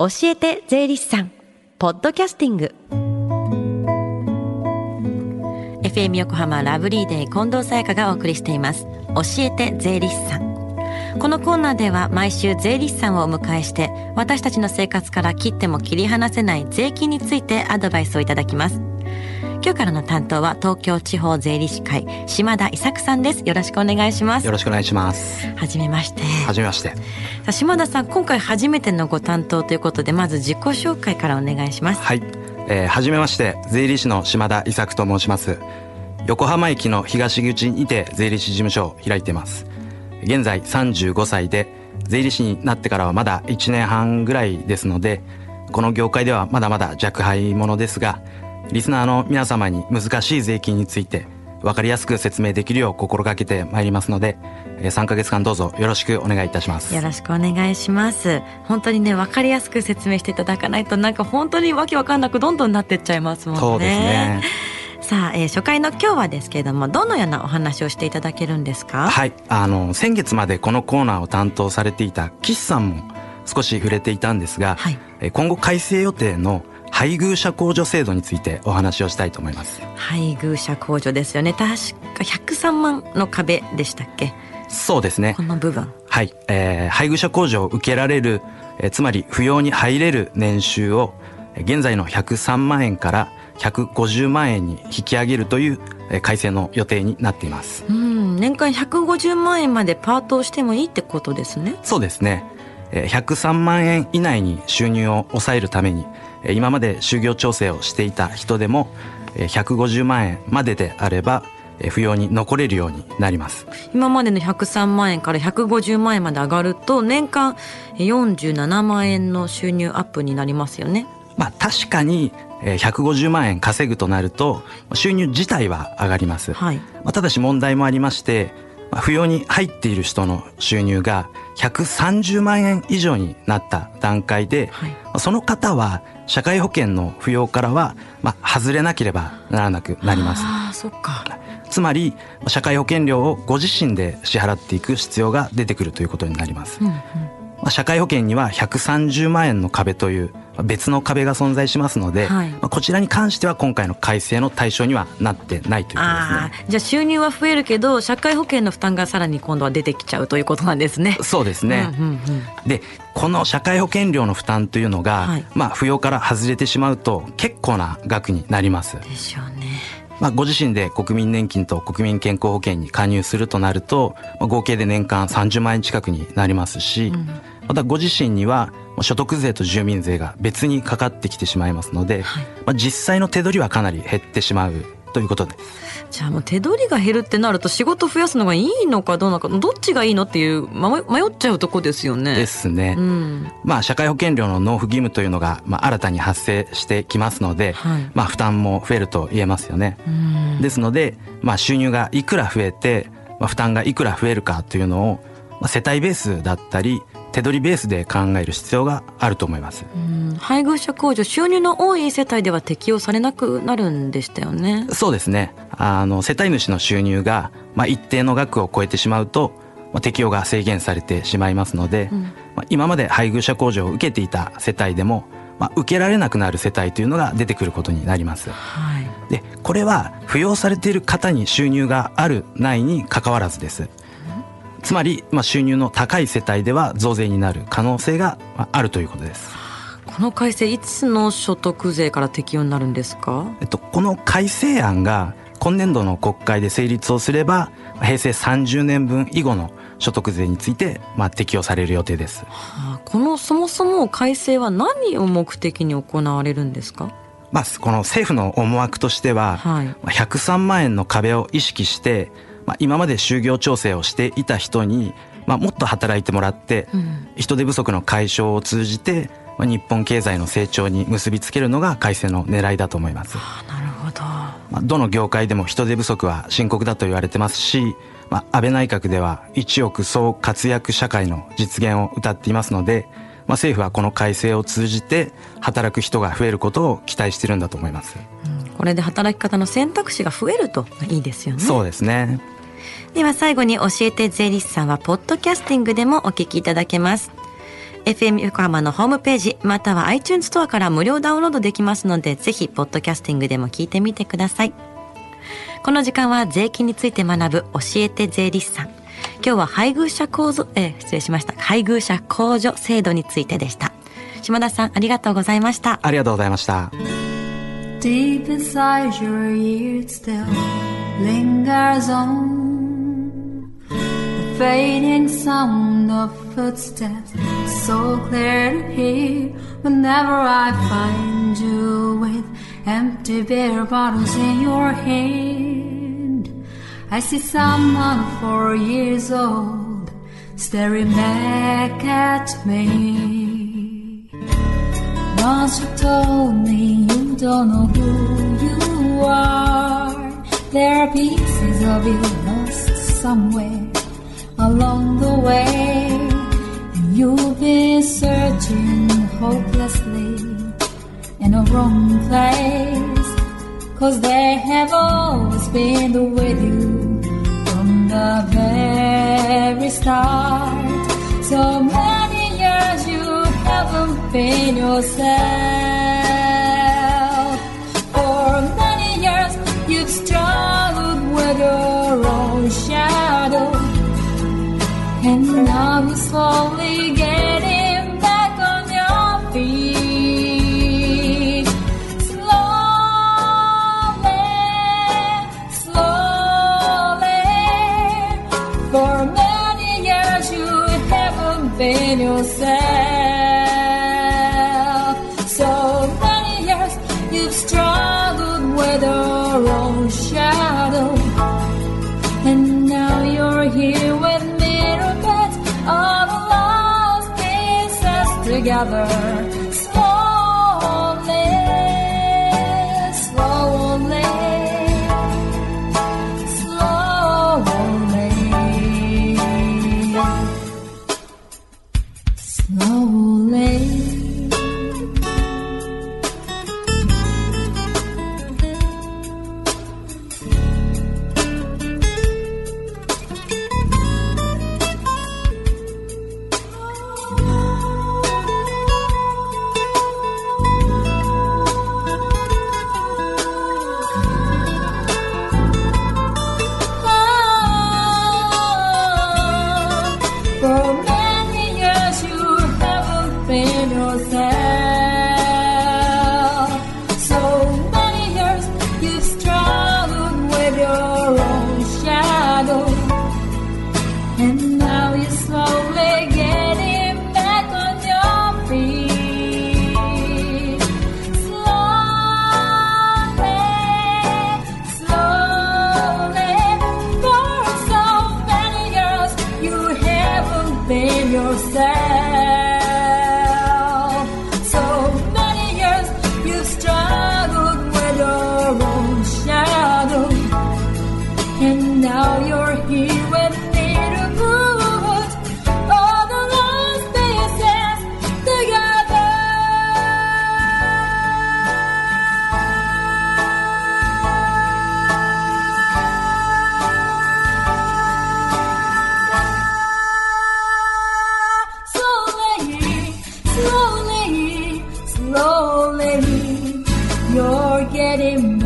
教えて税理士さんポッドキャスティング FM 横浜ラブリーデー近藤沙耶香がお送りしています。教えて税理士さん。このコーナーでは毎週税理士さんをお迎えして、私たちの生活から切っても切り離せない税金についてアドバイスをいただきます。今日からの担当は東京地方税理士会島田伊作さんです。よろしくお願いします。 よろしくお願いします。 はじめまして。 はじめまして。 さあ島田さん、今回初めてのご担当ということで、まず自己紹介からお願いします。 はい、はじめまして。税理士の島田伊作と申します。横浜駅の東口にて税理士事務所を開いています。現在35歳で、税理士になってからはまだ1年半ぐらいですので、この業界ではまだまだ若輩者ですが、リスナーの皆様に難しい税金について分かりやすく説明できるよう心がけてまいりますので、3ヶ月間どうぞよろしくお願いいたします。 よろしくお願いします。本当にね、分かりやすく説明していただかないと、なんか本当にわけわかんなくどんどんなってっちゃいますもんね。 そうですね。 さあ、初回の今日はですけれども、どのようなお話をしていただけるんですか？ はい、先月までこのコーナーを担当されていた岸さんも少し触れていたんですが、はい、今後改正予定の配偶者控除制度についてお話をしたいと思います。 配偶者控除ですよね。確か103万の壁でしたっけ？ そうですね。 この部分。 はい、配偶者控除を受けられる、つまり扶養に入れる年収を現在の103万円から150万円に引き上げるという改正の予定になっています。 年間150万円までパートをしてもいいってことですね。 そうですね。103万円以内に収入を抑えるために、今まで就業調整をしていた人でも150万円までであれば扶養に残れるようになります。 今までの103万円から150万円まで上がると、年間47万円の収入アップになりますよね。 確かに150万円稼ぐとなると収入自体は上がります。はい。ただし問題もありまして、扶養に入っている人の収入が130万円以上になった段階で、はい、その方は社会保険の扶養からは外れなければならなくなります。 そっか。 つまり社会保険料をご自身で支払っていく必要が出てくるということになります。社会保険には130万円の壁という別の壁が存在しますので、はい、こちらに関しては今回の改正の対象にはなってないということですね。 じゃあ収入は増えるけど社会保険の負担がさらに今度は出てきちゃうということなんですね。 そうですね。で、この社会保険料の負担というのが、はい、扶養から外れてしまうと結構な額になります。 でしょうね。 ご自身で国民年金と国民健康保険に加入するとなると、合計で年間30万円近くになりますし、またご自身には所得税と住民税が別にかかってきてしまいますので、はい、実際の手取りはかなり減ってしまうということです。 じゃあもう手取りが減るってなると、仕事増やすのがいいのかどうなのか、どっちがいいのっていう迷っちゃうとこですよね。 ですね。社会保険料の納付義務というのが新たに発生してきますので、はい、負担も増えると言えますよね。ですので、収入がいくら増えて、負担がいくら増えるかというのを、世帯ベースだったり手取りベースで考える必要があると思います。 配偶者控除、収入の多い世帯では適用されなくなるんでしたよね。 そうですね。世帯主の収入が、一定の額を超えてしまうと、適用が制限されてしまいますので、今まで配偶者控除を受けていた世帯でも、受けられなくなる世帯というのが出てくることになります。はい、で、これは扶養されている方に収入があるないに関わらずです。つまり、収入の高い世帯では増税になる可能性があるということです。 この改正、いつの所得税から適用になるんですか？ この改正案が今年度の国会で成立をすれば、平成30年分以後の所得税について適用される予定です。 このそもそも改正は何を目的に行われるんですか？ この政府の思惑としては、はい、103万円の壁を意識して、今まで就業調整をしていた人に、もっと働いてもらって、人手不足の解消を通じて、日本経済の成長に結びつけるのが改正の狙いだと思います。 なるほど。 どの業界でも人手不足は深刻だと言われてますし、安倍内閣では一億総活躍社会の実現を謳っていますので、政府はこの改正を通じて働く人が増えることを期待しているんだと思います。 これで働き方の選択肢が増えるといいですよね。 そうですね。 では最後に、教えて税理士さんはポッドキャスティングでもお聞きいただけます。 FM 横浜のホームページまたは iTunes ストアから無料ダウンロードできますので、ぜひポッドキャスティングでも聞いてみてください。この時間は税金について学ぶ教えて税理士さん。今日は配偶者控除制度についてでした。島田さん、ありがとうございました。 ありがとうございました。 Deep inside your ears still lingers on the fading sound of footsteps, so clear to hear whenever I find you with empty beer bottles in your hand. I see someone 4 years old staring back at me.Once you told me you don't know who you are. There are pieces of you lost somewhere along the way, and you've been searching hopelessly in a wrong place, 'cause they have always been with you from the very start. So many years you haven't been yourself. For many years you've struggled with your own shadow, and now you're slowly getting back on your feet. Slowly, slowly. For many years you haven't been yourself.So many years you've struggled with your own shadow, and now you're here with me to put all the lost pieces together. Slowly, slowly, slowly, you're getting